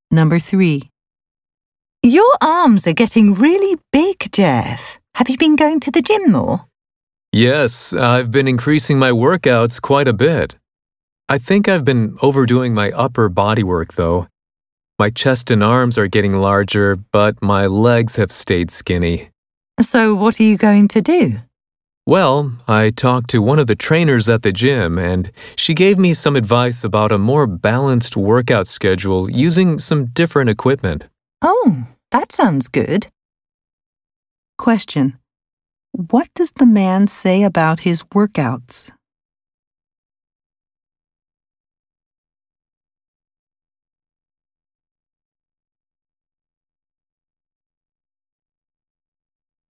Number 3. Your arms are getting really big, Jeff. Have you been going to the gym more? Yes, I've been increasing my workouts quite a bit. I think I've been overdoing my upper body work, though. My chest and arms are getting larger, but my legs have stayed skinny. So what are you going to do? Well, I talked to one of the trainers at the gym, and she gave me some advice about a more balanced workout schedule using some different equipment. Oh, that sounds good. Question. What does the man say about his workouts?